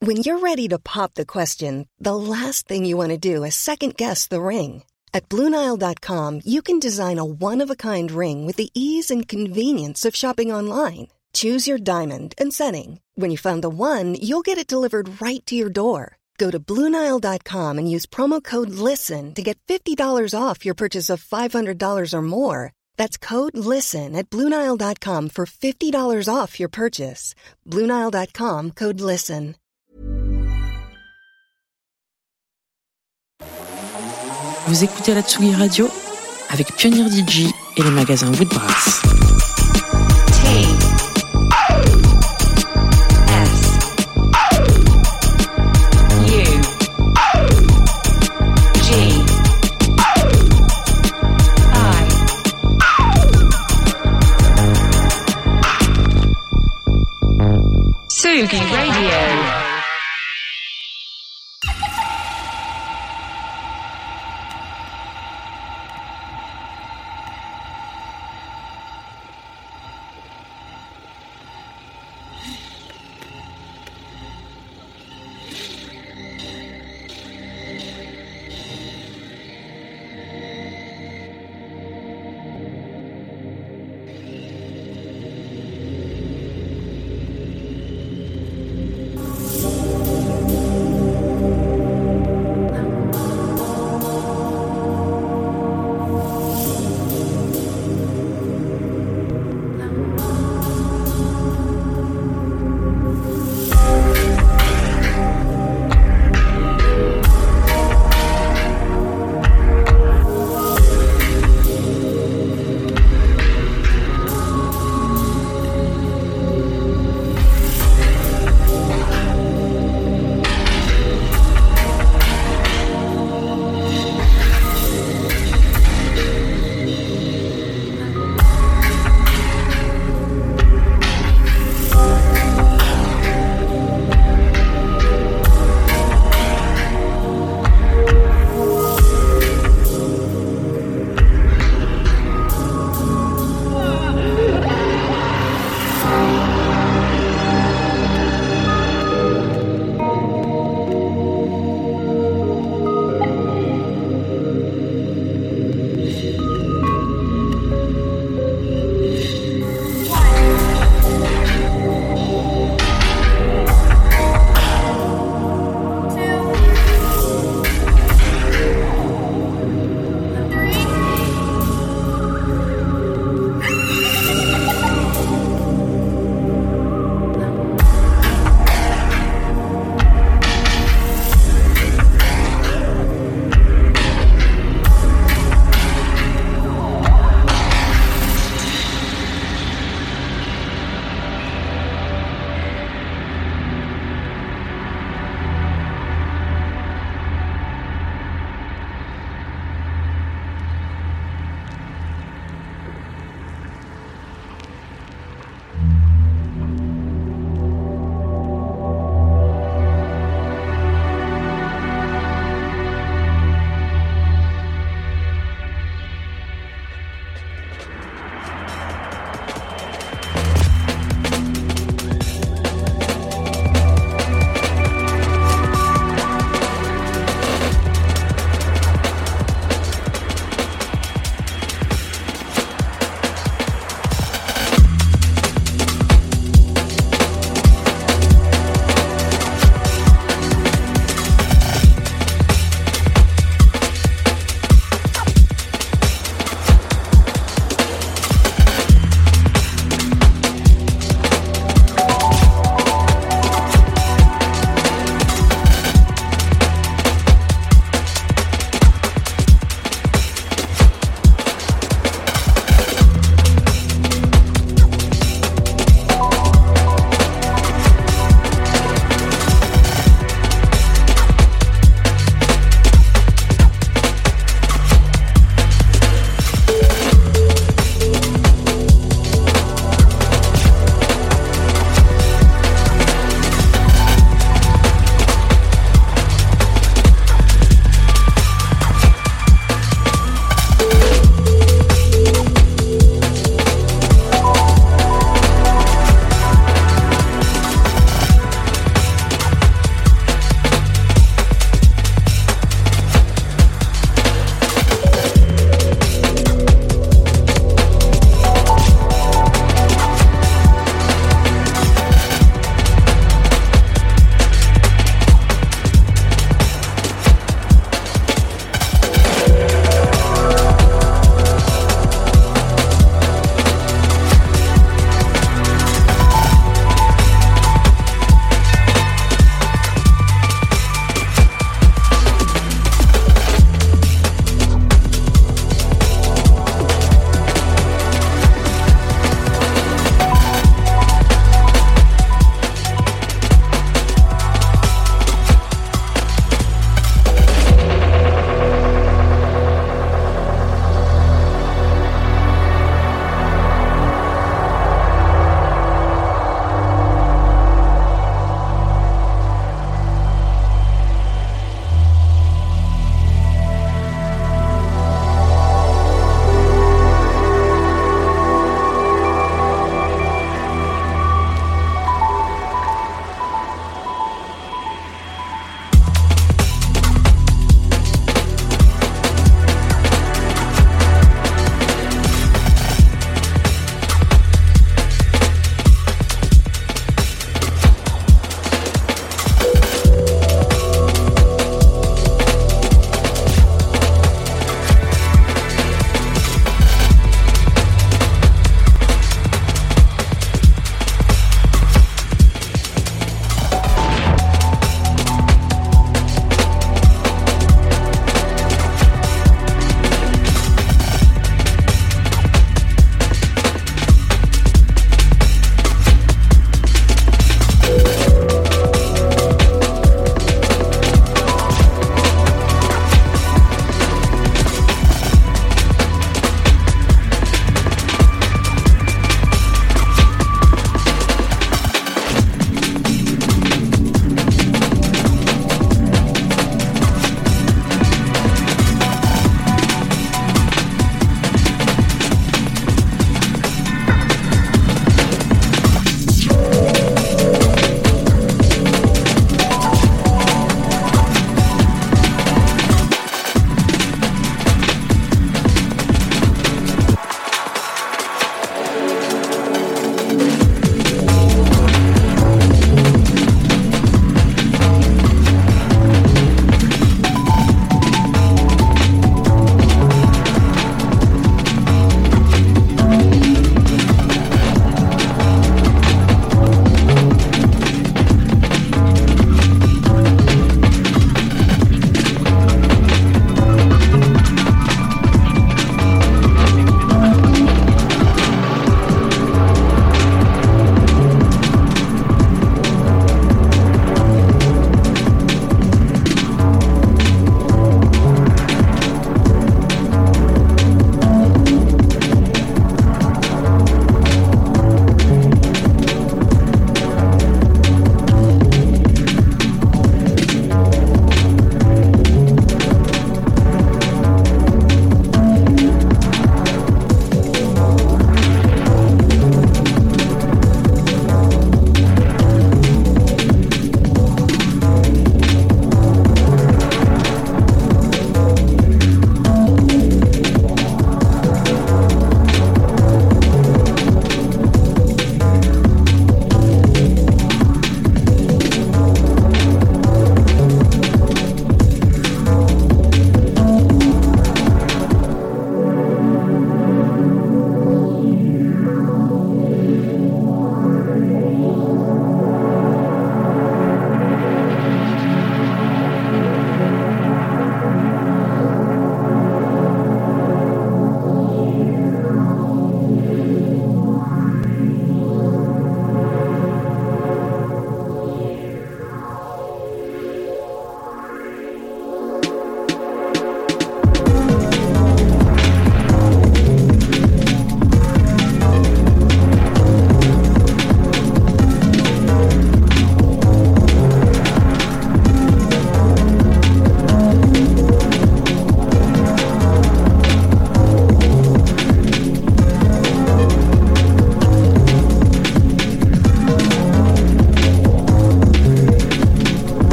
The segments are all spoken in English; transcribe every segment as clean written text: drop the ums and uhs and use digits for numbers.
When you're ready to pop the question, the last thing you want to do is second-guess the ring. At BlueNile.com, you can design a one-of-a-kind ring with the ease and convenience of shopping online. Choose your diamond and setting. When you find the one, you'll get it delivered right to your door. Go to BlueNile.com and use promo code LISTEN to get $50 off your purchase of $500 or more. That's code LISTEN at BlueNile.com for $50 off your purchase. BlueNile.com, code LISTEN. Vous écoutez la Tsugi Radio avec Pionnier DJ et le magasin Woodbrass. Tsugi Radio.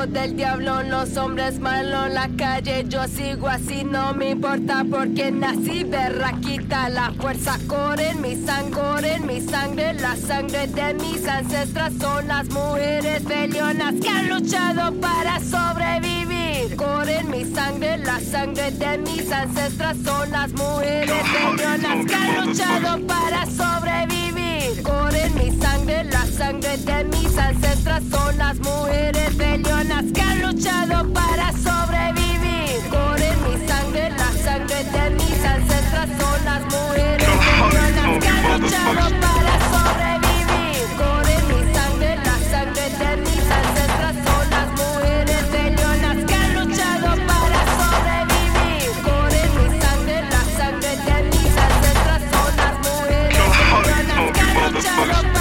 hijo del diablo, los hombres malos en la calle. Yo sigo así, no me importa porque nací berraquita. La fuerza corre en mi sangre, la sangre de mis ancestras son las mujeres peleonas que han luchado para sobrevivir. Corre en mi sangre, la sangre de mis ancestras son las mujeres peleonas que han luchado para sobrevivir. Corre en mi sangre, la sangre de mis ancestras son las mujeres peleonas que han luchado para sobrevivir. Corre en mi sangre, la sangre de mis ancestras son las mujeres peleonas que han luchado para sobrevivir. Corre en mi sangre, la sangre de mis ancestras son las mujeres peleonas que han luchado para sobrevivir. Corre en mi sangre, la sangre de mis ancestras son las mujeres peleonas que han luchado para sobrevivir.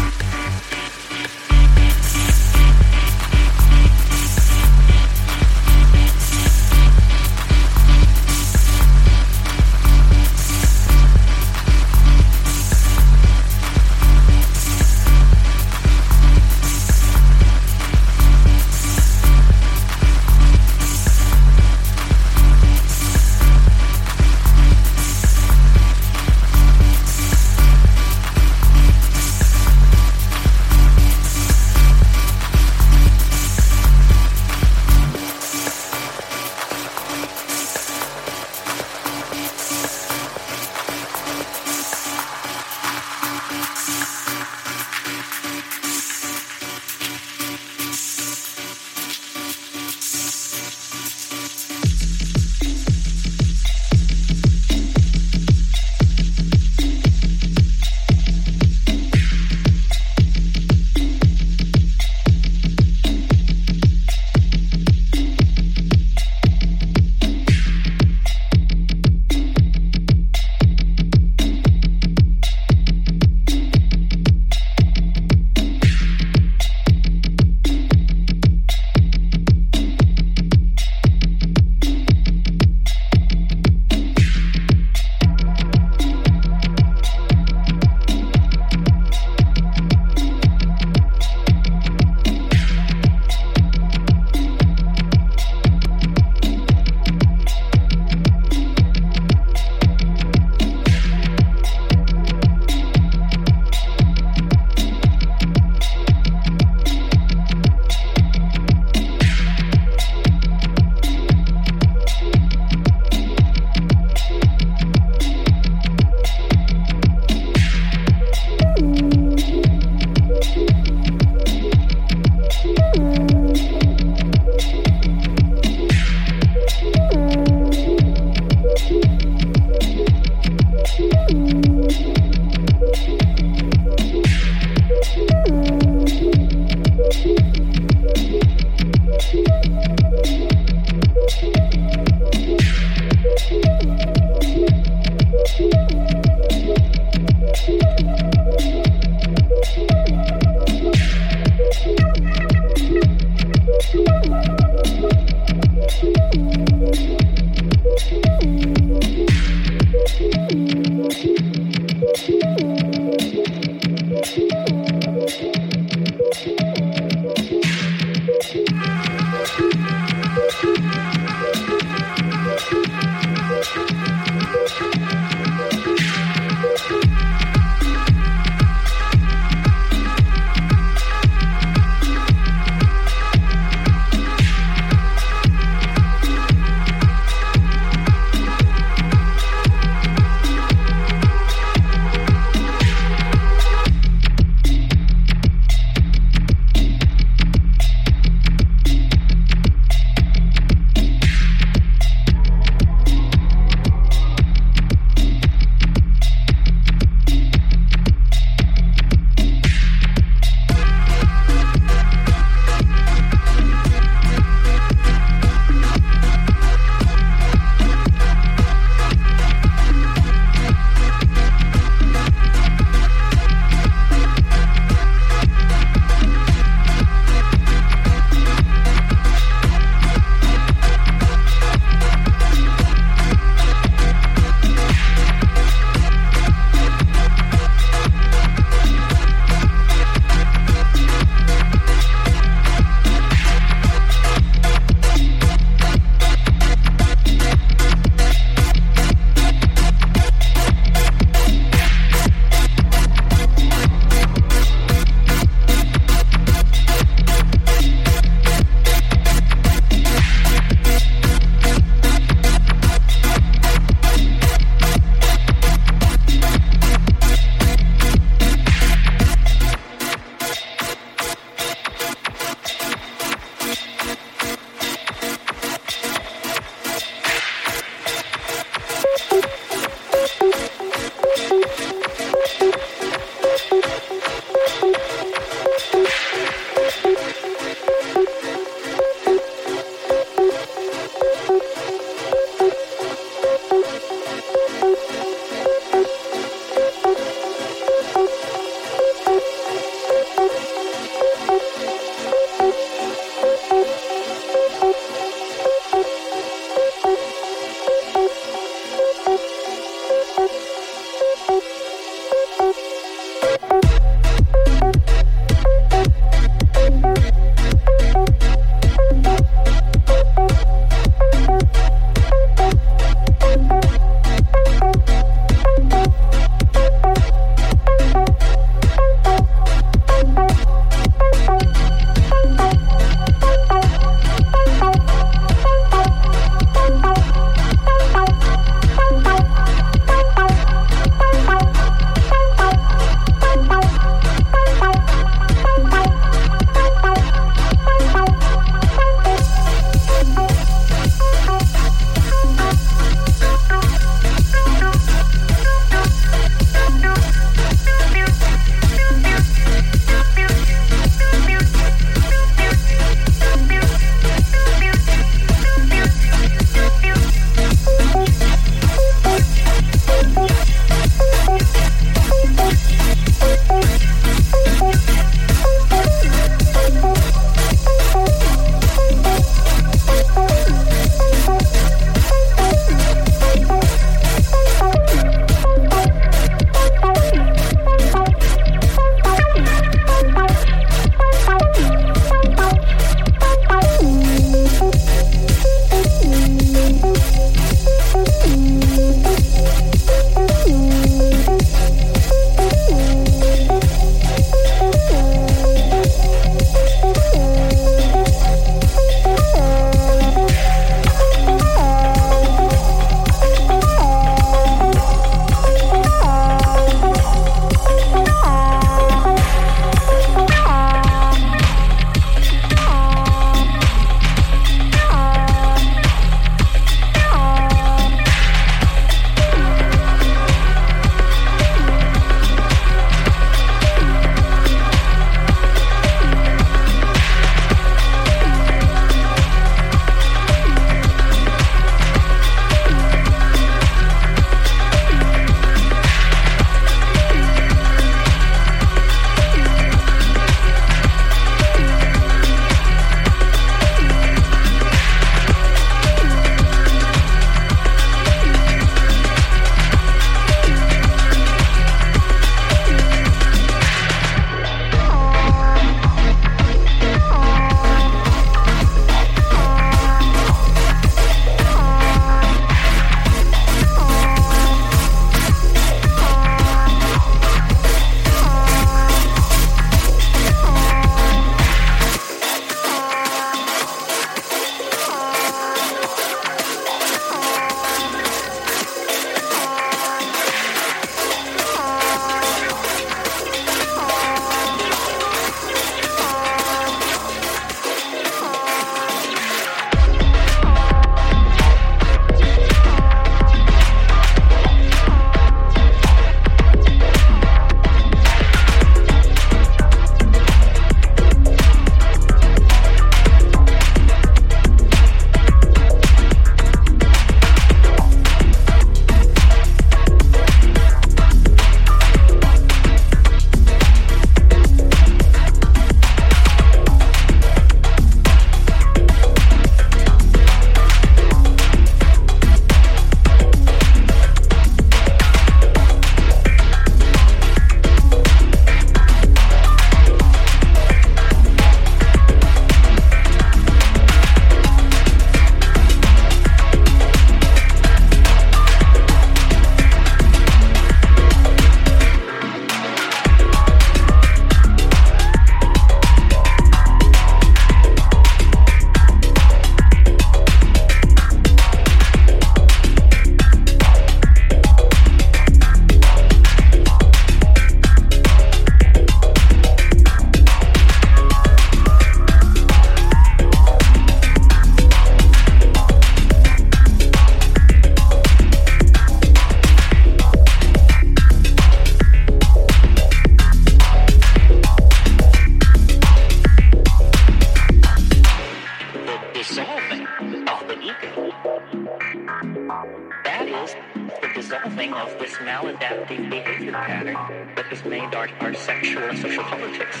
maladaptive behavior pattern that has made our sexual and social politics.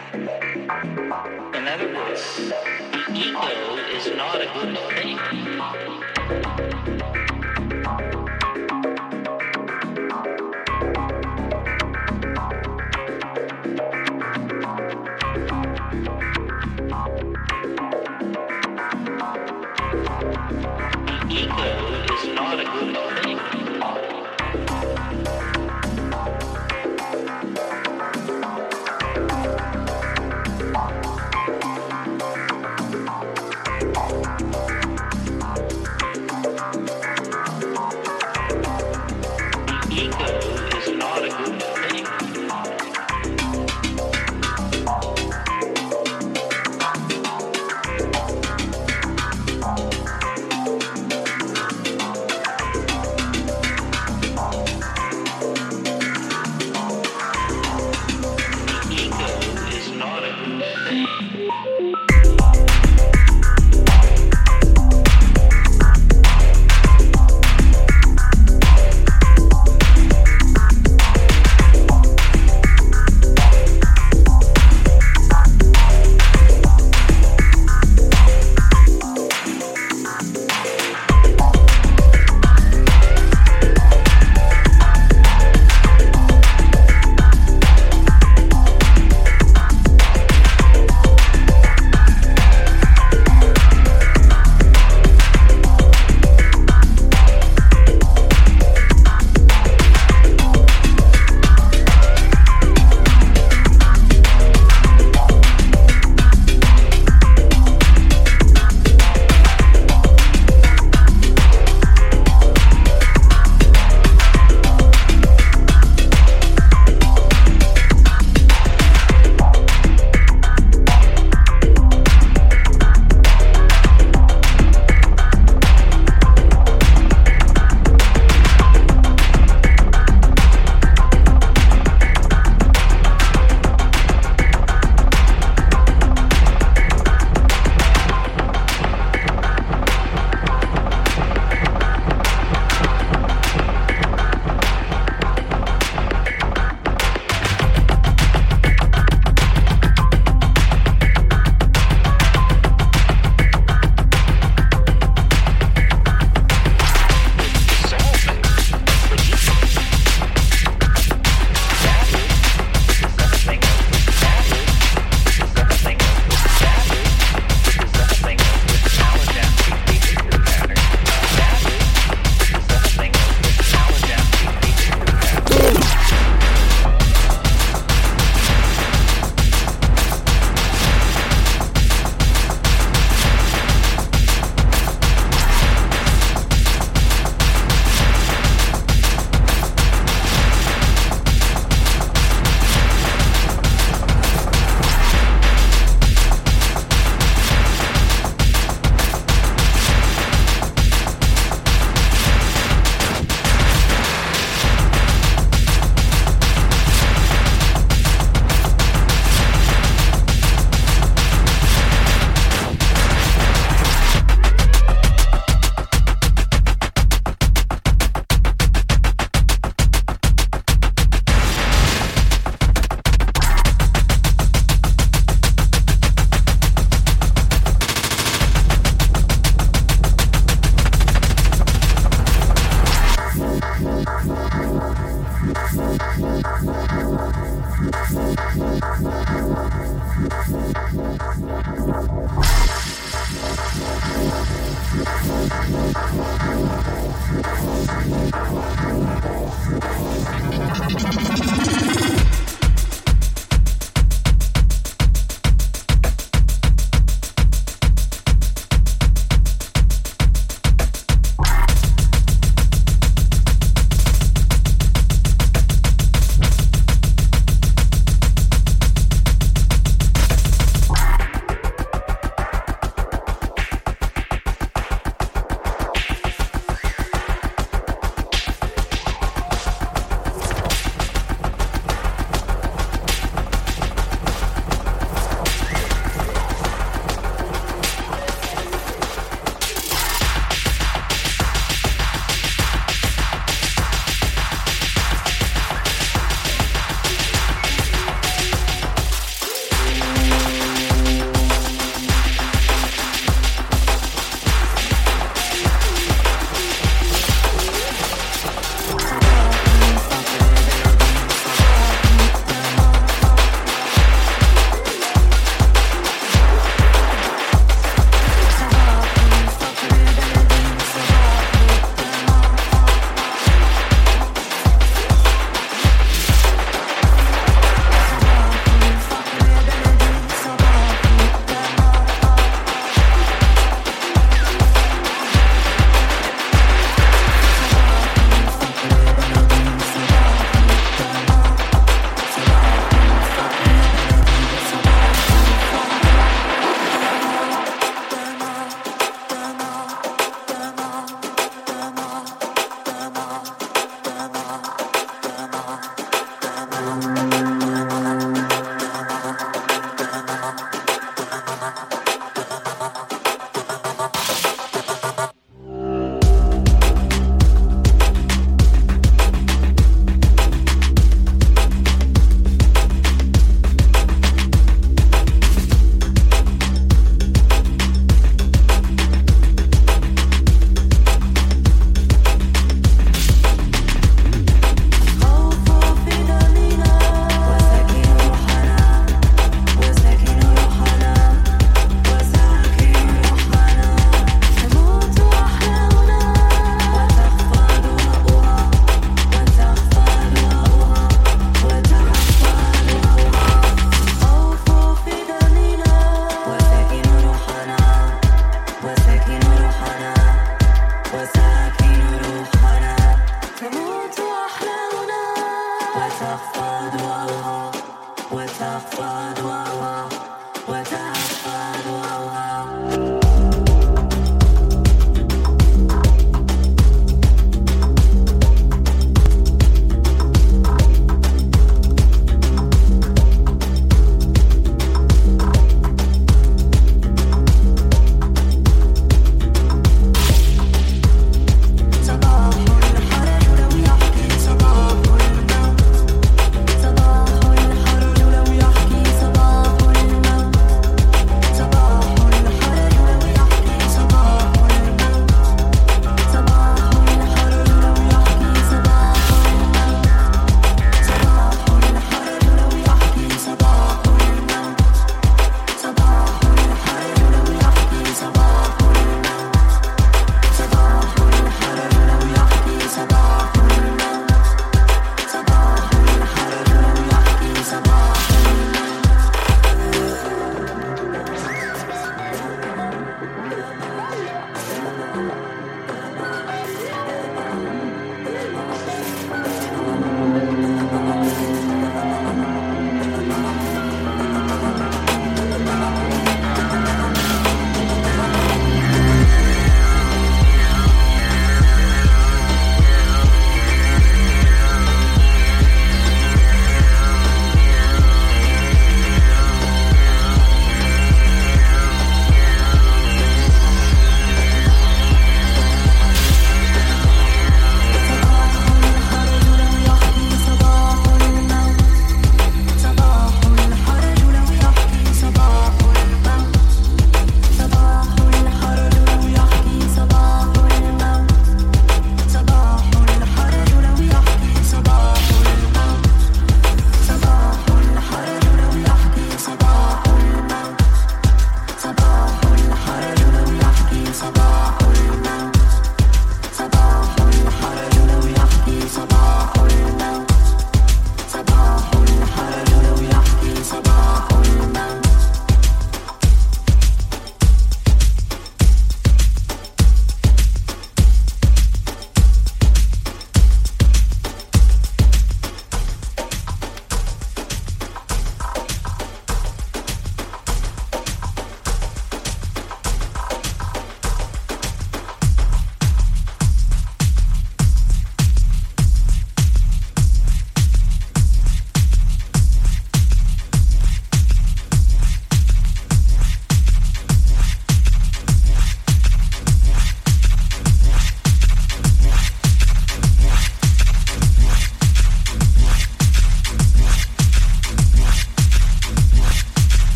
In other words, the ego is not a good thing.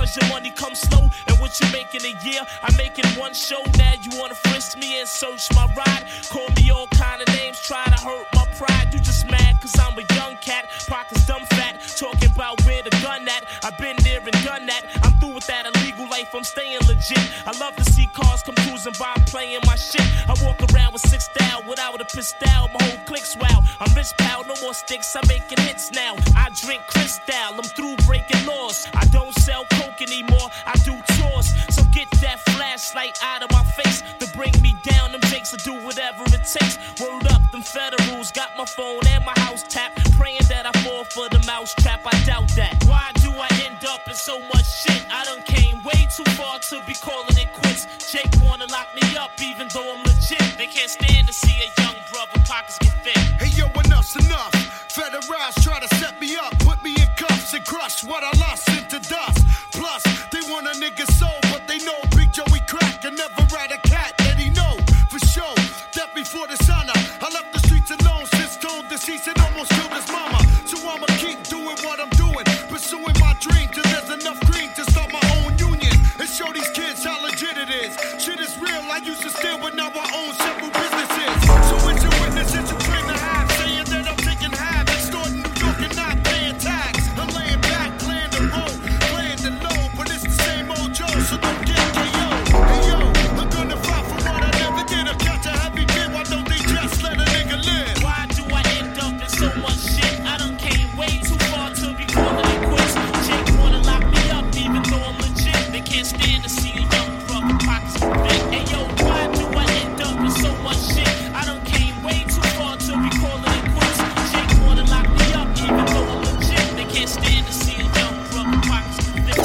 Cause your money comes slow, and what you make in a year, I make in one show. Now you wanna frisk me and search my ride. Call me all kind of names, try to hurt my pride. You just mad cause I'm a young cat, pockets dumb fat, talking about where the gun at. I've been there and done that. I'm through with that illegal life, I'm staying legit. I love to see cars come cruising by, I'm playing my shit. I walk around with 6 style, without a pistol, my whole clique's wow. I'm rich pal, no more sticks, I'm making hits now. I drink crystal, I'm through breaking laws. I don't sell coke anymore, I do tours. So get that flashlight out of my face to bring me down. Them jakes will do whatever it takes. Word up, them federals got my phone and my house tapped, praying that I fall for the mouse trap. I doubt that. Why do I end up in so much shit? I done came way too far to be calling it quits. Jake wanna lock me up even though I'm legit. They can't stand to see a young brother pockets get thick. Hey yo, enough's enough. Federals try to set me up, put me in cuffs and crush what I lost into dust. Plus, they want a nigga soul, but they know Big Joey crack and never ride a cat that he know for sure. Death before dishonor. I left the streets alone since Stone deceased and almost killed his mama. So I'ma keep doing what I'm doing, pursuing my dream till there's enough green to start my own union and show these kids how legit it is. Shit is real. I used to steal, but now I own several businesses. So it's your witnesses you claim to have, saying that I'm taking half, extorting New York and not paying tax. I'm laying back, playing the role, playing the low, but it's the same old Joe, so don't get KO. Hey yo, I'm gonna fight for what I never did. I catch a heavy kid, why don't they just let a nigga live? Why do I end up in so much shit? I done came way too far to be calling it quits. Jake wanna lock me up even though I'm legit. They can't stand to see a young brother pockets get thick. Hey yo, why do I end up in so much shit? I done came way too far to be calling it quits. Jake wanna lock me up even though I'm legit. They can't stand to see a young brother pockets get thick.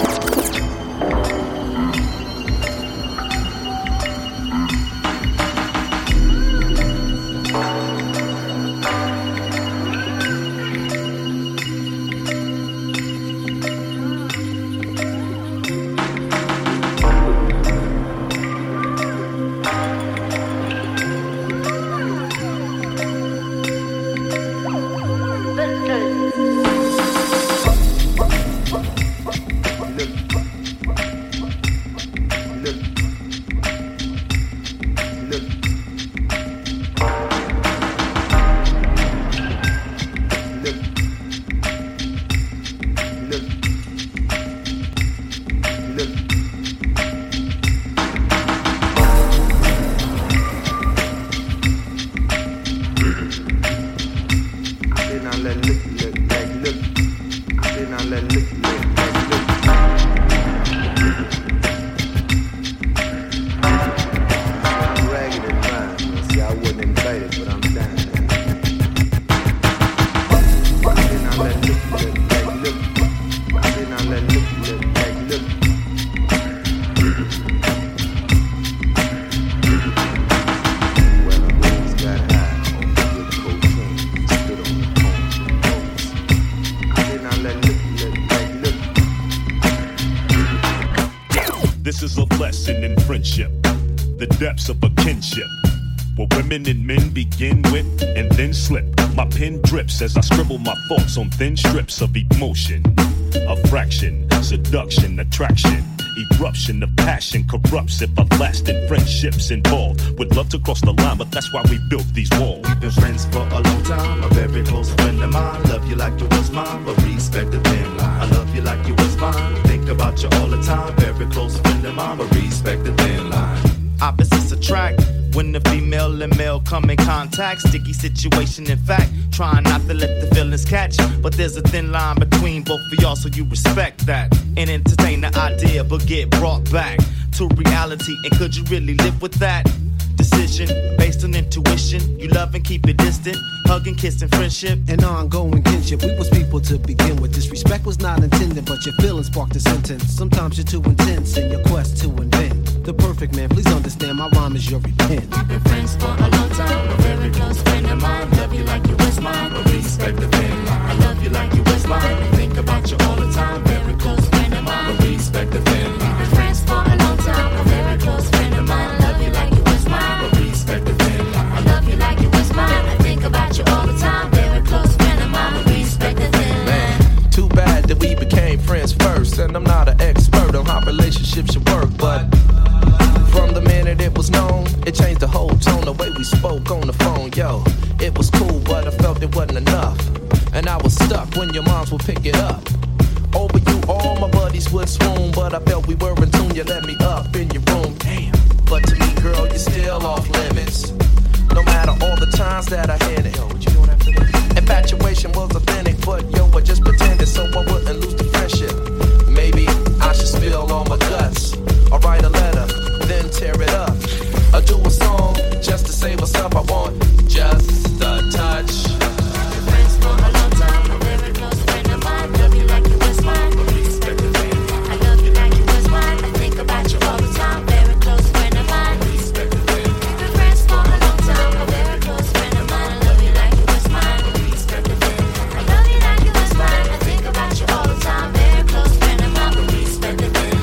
This is a lesson in friendship, the depths of a kinship, where women and men begin with and then slip. My pen drips as I scribble my thoughts on thin strips of emotion, a fraction, seduction, attraction, eruption of passion corrupts if everlasting friendships involved. Would love to cross the line, but that's why we built these walls. We've been friends for a long time, a very close friend of mine. Love you like you was mine, but respect the thin line. I love you like you was mine, think about you all the time. Very close friend of mine, but respect the thin line. Opposites attract when the female and male come in contact. Sticky situation, in fact, trying not to let the feelings catch. But there's a thin line between both of y'all, so you respect that and entertain the idea, but get brought back to reality. And could you really live with that? Decision based on intuition. You love and keep it distant. Hug and kiss and friendship and ongoing kinship. We was people to begin with. Disrespect was not intended, but your feelings sparked a sentence. Sometimes you're too intense in your quest to invent the perfect man. Please understand my rhyme is your repent. We've been friends for a long time, a very close friend of mine. Love you like you was mine, but respect the thin line. I love you like you was mine, and think about you all the time. Very close friend of mine, but respect the thin line. We've been friends for a long time, a very close friend of mine. Love you like you was mine, but respect the thin line. I love you like you was mine. I think about you all the time. Very close friend of mine, but respect the thin line. Too bad that we became friends first, and I'm not an expert on relationship should work, but from the minute it was known, it changed the whole tone, the way we spoke on the phone. Yo, it was cool, but I felt it wasn't enough, and I was stuck when your moms would pick it up. Over you, all my buddies would swoon, but I felt we were in tune. You let me up in your room, damn. But to me, girl, you're still off limits. No matter all the times that I hit it. Yo, what you doing after that? Infatuation was authentic, but yo, I just pretended so I wouldn't lose the friendship. Maybe I should spill all my guts, or write a letter, then tear it up, or do a song just to say what's up. I want just a touch. Friends for a long time, a very close friend of mine. Love you like you was mine. I love you like you was mine. I think about you all the time. Very close friend of mine. We've been friends for a long time, a very close friend of mine. I love you like you was mine. I love you like you was mine. I think about you all the time. Very close friend of mine. But we spend the night.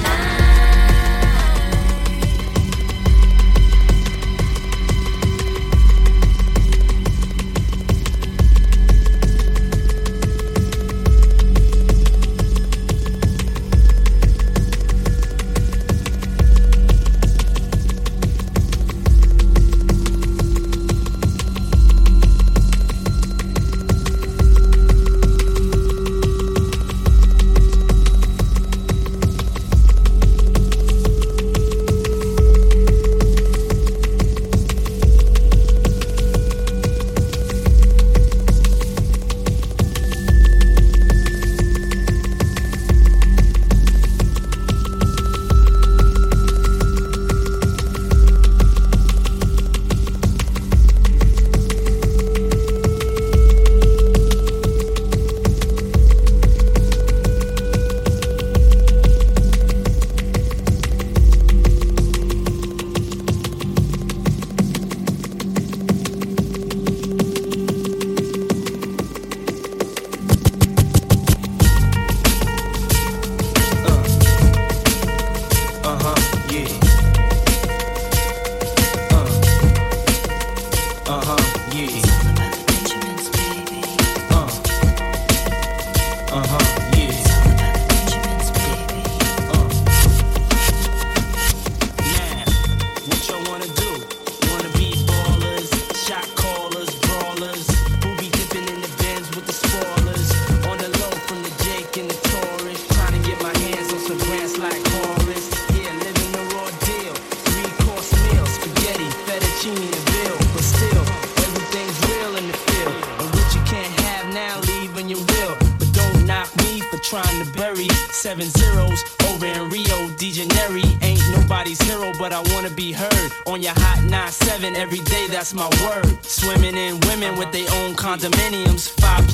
Trying to bury 7 zeros over in Rio de Janeiro. Ain't nobody's hero, but I wanna be heard on your hot 9-7 every day. That's my word. Swimming in women with their own condominiums,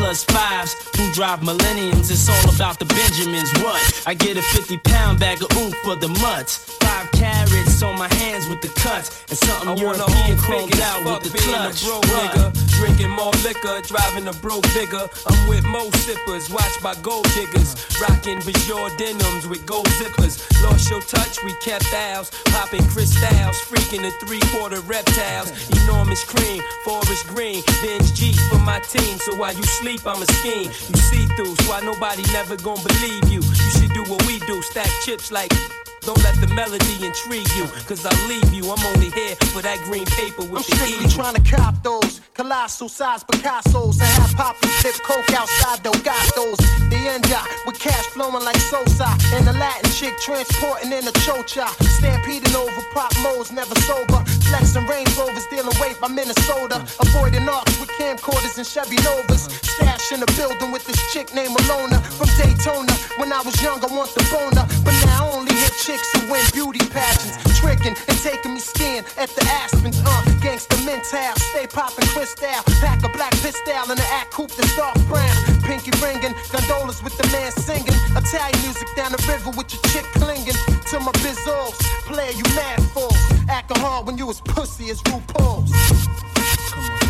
5+5s who drive millenniums. It's all about the Benjamins. What? I get a 50-pound bag of oomph for the mutts. 5 carats on my hands with the cuts, and something European chromed out with the clutch. Nigga, drinking more liquor, driving a broke bigger. I'm with mo sippers, watched by gold diggers. Rocking Bajor denims with gold zippers. Lost your touch, we kept ours. Popping crystals, freaking the 3/4 reptiles. Enormous cream, forest green. Benz G for my team, so while you sleep, I'm a scheme. You see through, so why nobody never gon' believe you. You should do what we do, stack chips like... Don't let the melody intrigue you, cause I'll leave you. I'm only here for that green paper with the I'm strictly trying to cop those colossal size Picassos and have Poppy tip coke outside Delgados. The end with cash flowing like Sosa, and the Latin chick transporting in a chocha. Stampeding over pop modes, never sober. Flexing Range Rovers, dealing weight by Minnesota. Avoiding arcs with camcorders and Chevy Novas. Stash in the building with this chick named Alona from Daytona. When I was young, I want the boner, but now I only hit chicks who win beauty pageants, tricking and taking me skiing at the Aspens. Gangsta mental, stay popping crystal, pack a black pistol and an act coupe that's dark brown. Pinky ringing, gondolas with the man singing. Italian music down the river with your chick clinging to my bizzles. Player, you mad fools, acting hard when you as pussy as RuPaul's. Come on.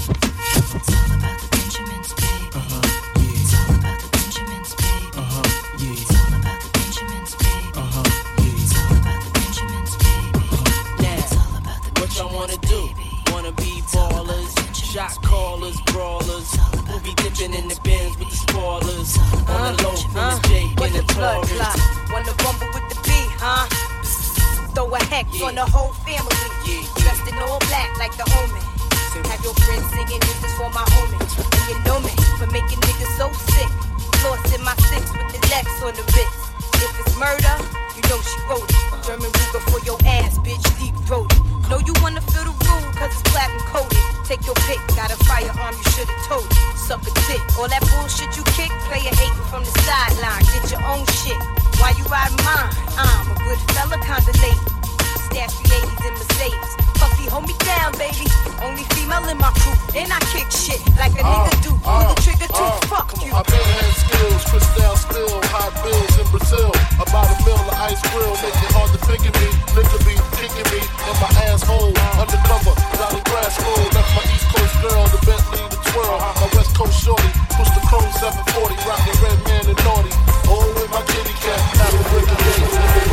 It's all about the Benjamins, baby. Yeah. It's all about the Benjamins, baby. Yeah. It's all about the Benjamins, baby. It's all about the Benjamins, baby. Now, what y'all wanna do? Wanna be ballers, shot callers, brawlers. We'll be dipping in the bins with the spoilers. On the low from the Jake and the Taurus. Wanna rumble with the beat, a hex on the whole family. Dressed in all black like the Omen. Have your friends singing, this is for my homie. And you know me for making niggas so sick. Lost in my six with the Lex on the wrist. If it's murder, you know she wrote it. German Ruger for your ass, bitch, deep throated. Know you wanna feel the rule, cause it's black and coated. Take your pick, got a firearm, you should've told it. Suck a dick, all that bullshit you kick, player hating from the sideline. Get your own shit, why you ride mine? I'm a good fella, kinda late. Stash the 80s in Mercedes. Puffy, hold me down, baby. Only female in my crew, and I kick shit like a nigga do. Pull the trigger too, fuck you. I been had skills, crystal spill, hot bills in Brazil. About a mill of ice grill, make it hard to figure me. Nigga be kicking me in my asshole. Undercover, Johnny Grass roll. Left my East Coast girl, the Bentley, the twirl. My West Coast shorty, push the chrome 740, rockin' red man and naughty. Oh, with my kitty cat, after breaking days.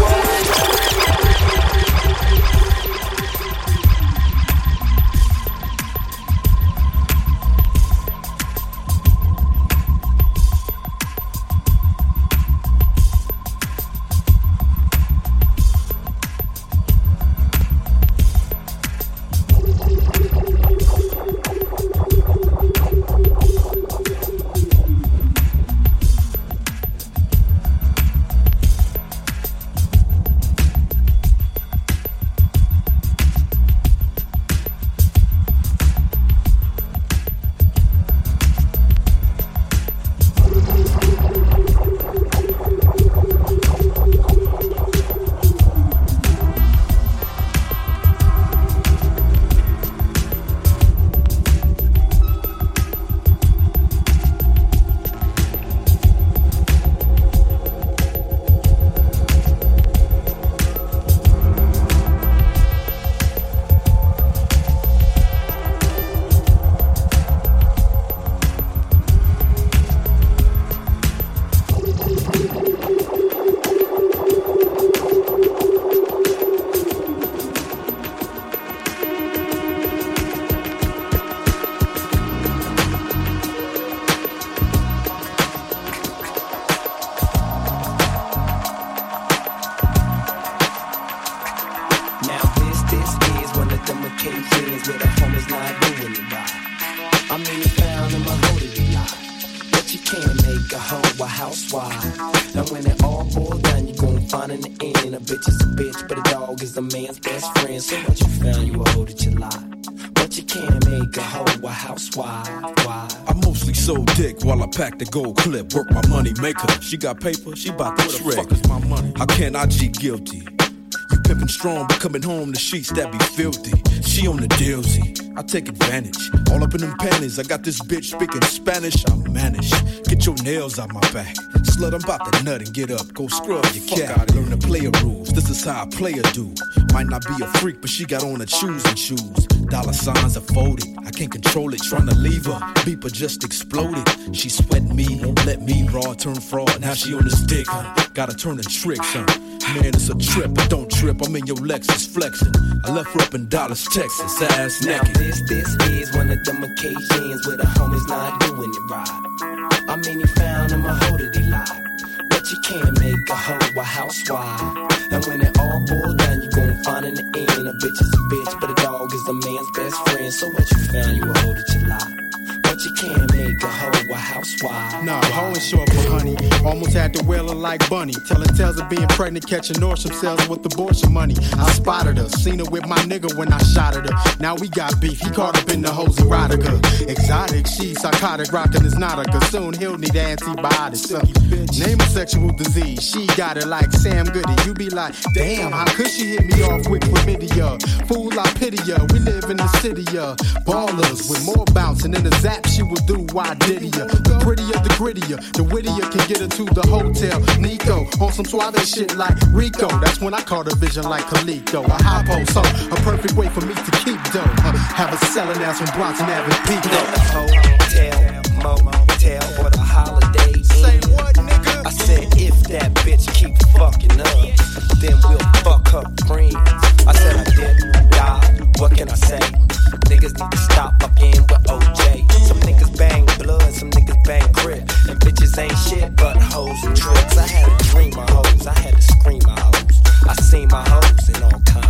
Pack the gold clip, work my money maker. She got paper, she bout to shred. Where the fuck is my money? How can I G guilty? You pimpin' strong, but coming home the sheets that be filthy. She on the dealsy, I take advantage. All up in them panties, I got this bitch speaking Spanish. I manage, get your nails out my back. Slut, I'm about to nut and get up. Go scrub your cat, learn the player rules. This is how a player do. Might not be a freak, but she got on her choosing shoes. Dollar signs are folded, I can't control it. Tryna leave her, beeper just exploded. She sweating me, won't let me raw turn fraud. Now she on this dick, huh? Gotta turn the tricks, huh? Man, it's a trip, but don't trip. I'm in your Lexus flexing. I left her up in Dallas, Texas, ass naked. Now this is one of them occasions where the homies not doing it right. I mean, he found him a hoe that he lied. But you can't make a hoe a housewife. And when it all boils down, you gon' find in the end a bitch is a bitch, but a dog is a man's best friend. So what you found, you a hoe that you lied. But you can't make a hoe a housewife. Nah, hoeing short for honey. Almost had to whale her like Bunny. Telling tales of being pregnant, catching Nordstrom sales with abortion money. I spotted her, seen her with my nigga when I shot at her. Now we got beef, he caught up in the hose erotica. Exotic, she psychotic, rockin' is not a soon he'll need antibiotics. Name a sexual disease, she got it like Sam Goody. You be like, damn, how could she hit me off with chlamydia? Fool, I pity ya, we live in the city, ballers with more bouncing in the zap she will do. Why did ya? The prettier, the grittier, the wittier can get her to the hotel. Nico on some suave shit like Rico. That's when I caught a vision like Coleco. A hypo, so a perfect way for me to keep dough. Have a selling ass from Bronson Avenue Peak. Hotel, motel, for the holiday. Say what, nigga? I said if that bitch keep fucking up, then we'll fuck her friends. I said I didn't die. What can I say? Niggas need to stop fucking with OJ. Some niggas bang blood, some niggas bang crib. And bitches ain't shit but hoes and tricks. I had to dream my hoes, I had to scream my hoes. I seen my hoes in all kinds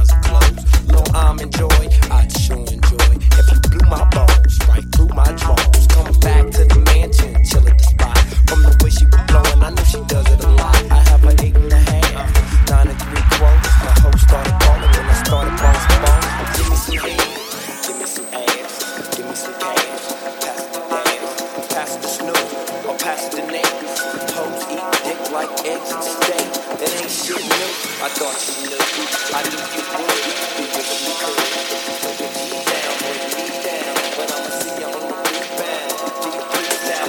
like eggs and steak. It ain't shit new. I thought you knew. I knew you would. You wish you could. Bring your G down, bring me down. But I'ma see you on the rebound. Do you please now?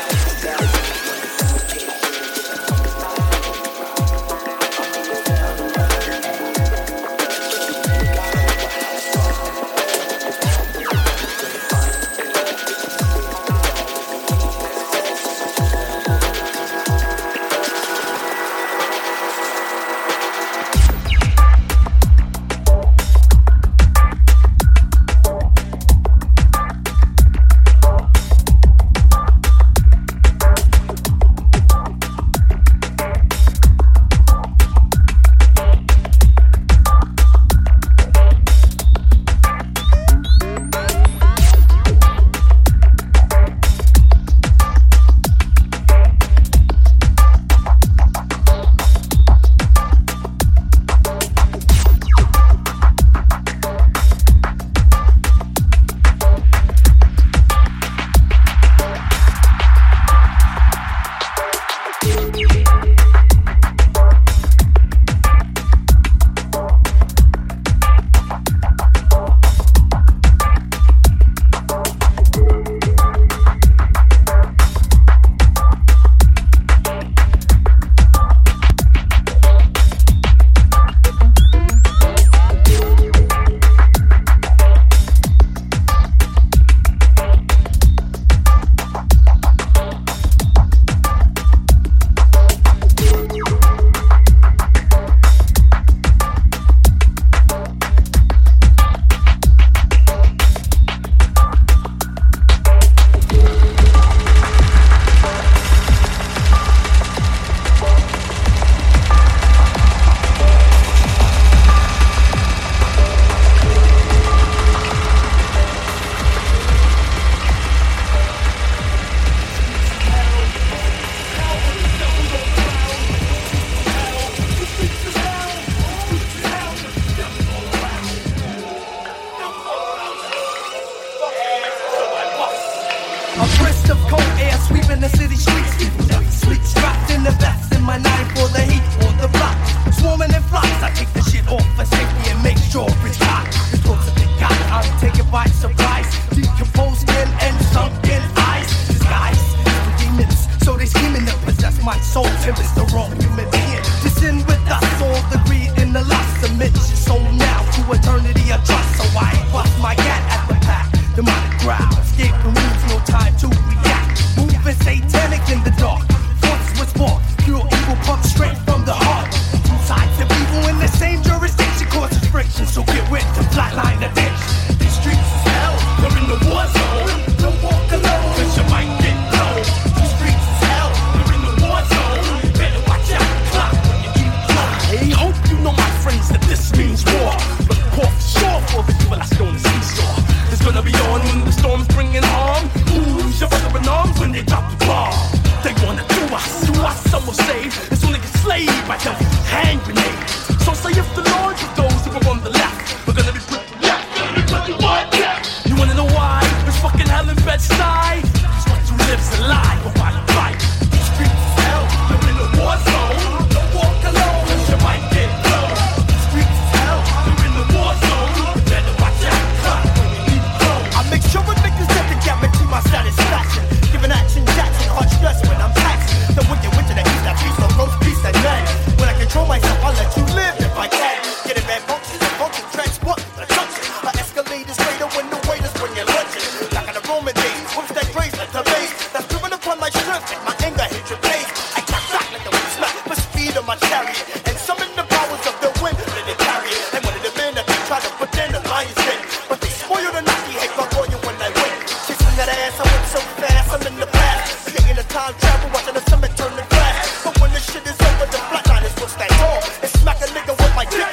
Turn the glass, but when the shit is over, the flatline is what's that tall. And smack a nigga with my dick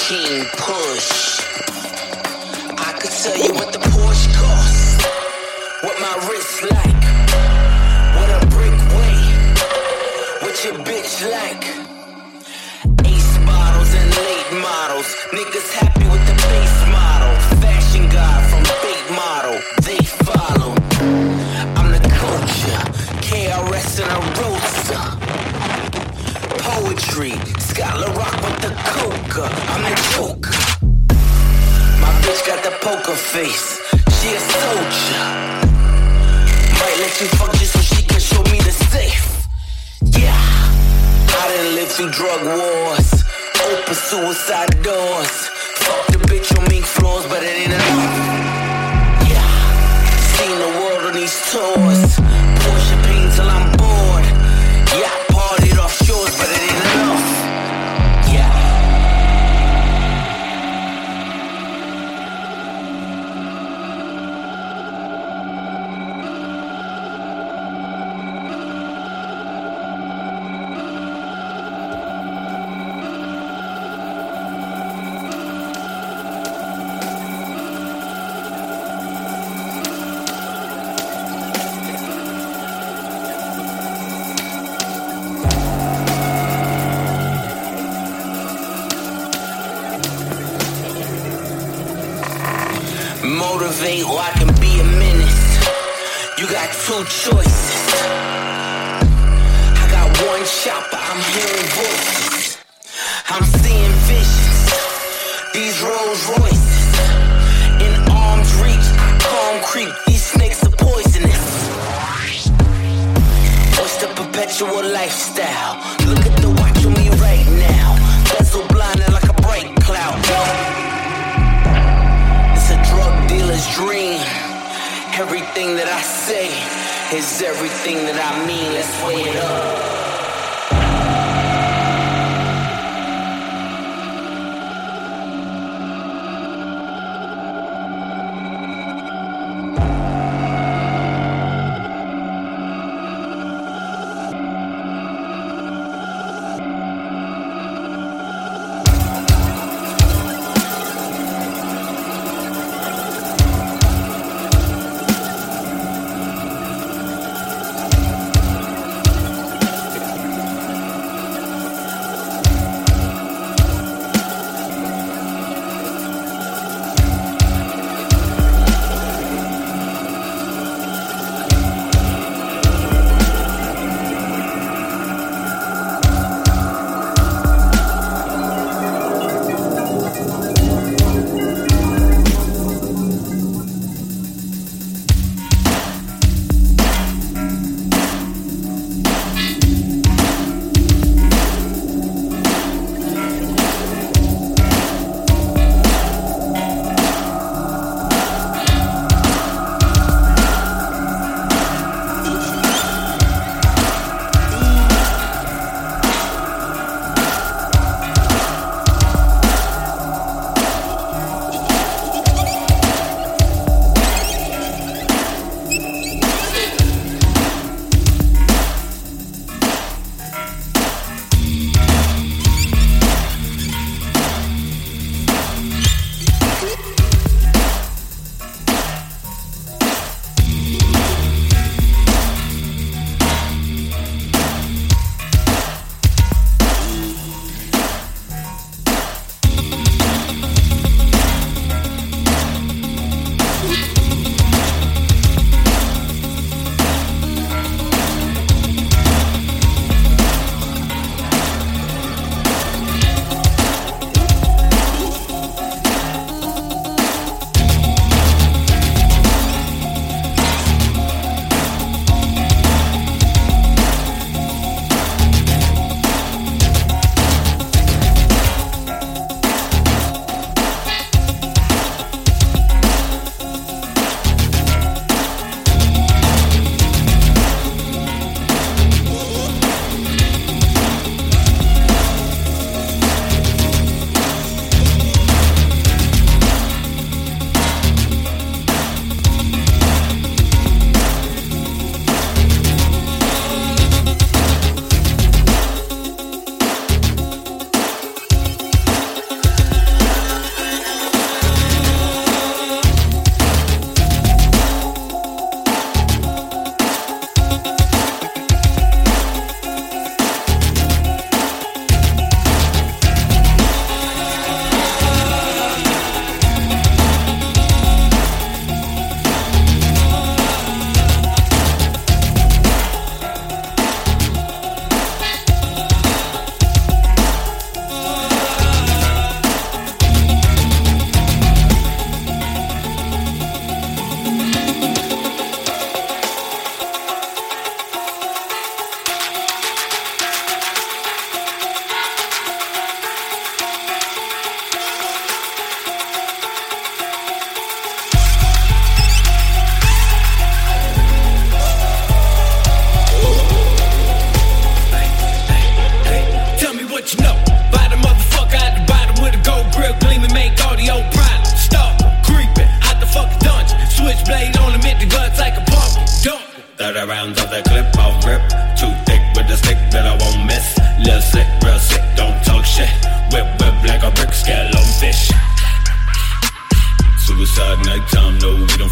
King Push. I could tell you what the Porsche costs, what my wrist like, what a brick weigh, what your bitch like. Ace bottles and late models, niggas happy with the base model. Fashion god from big model, they follow. I'm the culture, KRS and a roadster. Poetry, Scholar Rock with the coca. I'm the joker. My bitch got the poker face. She a soldier. Might let you fuck just so she can show me the safe. Yeah, I done lived through drug wars, open suicide doors. Fuck the bitch on mink floors, but it ain't enough. Yeah, seen the world on these tours. Porsche pain till I'm bored. Yeah, I partied off shores, but it ain't enough. Motivate or I can be a menace. You got two choices. I got one shot, but I'm hearing voices. I'm seeing visions. These Rolls Royces in arm's reach. I calm creep. These snakes are poisonous. What's the perpetual lifestyle? Look at the watch on me right now. Bezel blinding like a bright cloud. Dealer's dream. Everything that I say is everything that I mean. Let's weigh it up.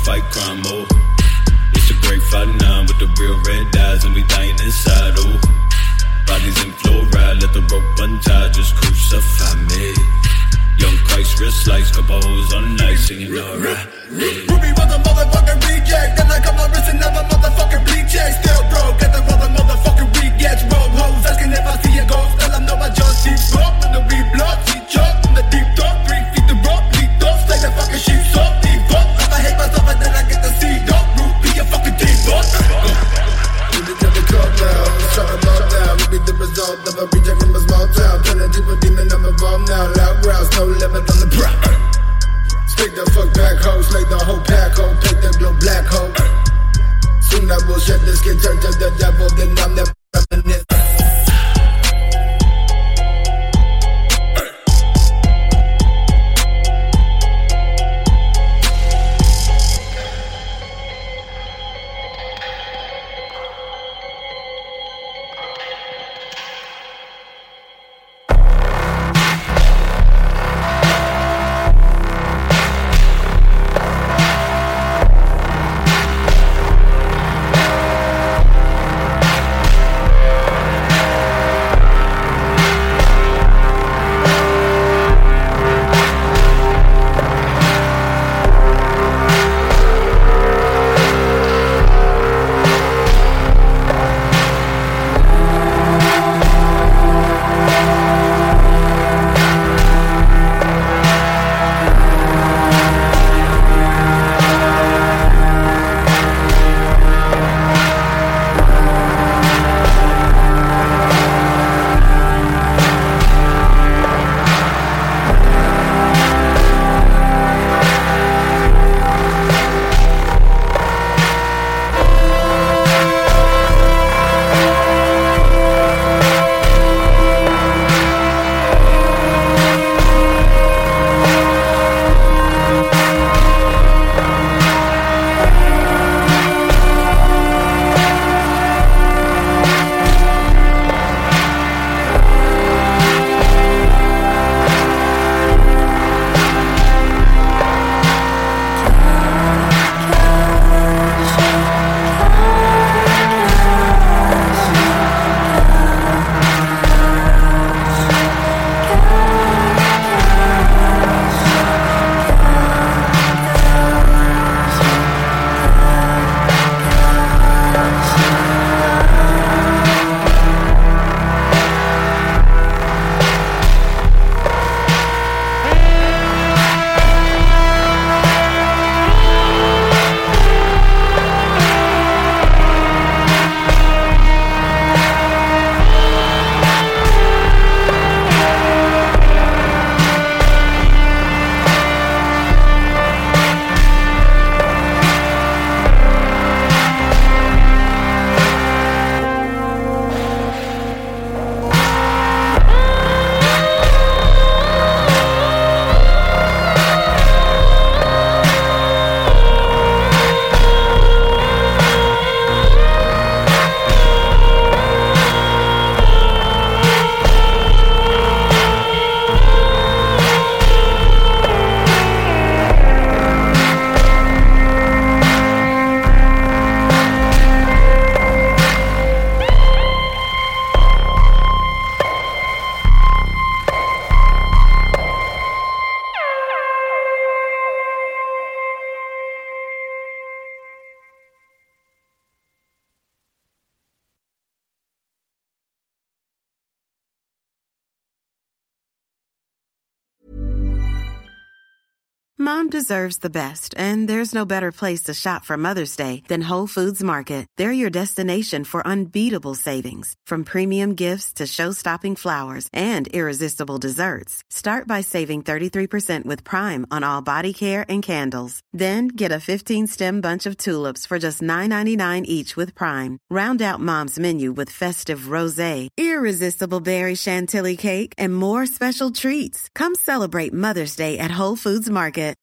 fight crime, oh. It's a great fight now with the real red eyes and we dying inside, oh. Bodies in fluoride, let the rope untie, just crucify me. Young Christ, wrist slice, couple hoes on the night, singing alright. Ruby was a motherfucking reject, then I cut my wrist and never motherfucking bleed check. Still broke, get the rubber motherfucking rejects. Roll hoes, asking if I see a ghost, tell them no, I just keep up. And the re-blood, teach up, in the deep dark, 3 feet the rope, lead up, slay the fucking sheep, so deep up. If I hate myself and then I get the seed up, root, be a fucking deep up. Ruby got the club now, shut them up now. Ruby the result of a reject from a small town. Turn a deeper demon, I'm involved now. Loud growls, no limit on the prop. Stick the fuck back hoe, slay the whole pack hoe, take the glow black hoe. Soon I will shed the skin, turn to the devil, then I'm never reminiscent. Mom deserves the best, and there's no better place to shop for Mother's Day than Whole Foods Market. They're your destination for unbeatable savings, from premium gifts to show-stopping flowers and irresistible desserts. Start by saving 33% with Prime on all body care and candles. Then get a 15-stem bunch of tulips for just $9.99 each with Prime. Round out Mom's menu with festive rosé, irresistible berry chantilly cake, and more special treats. Come celebrate Mother's Day at Whole Foods Market.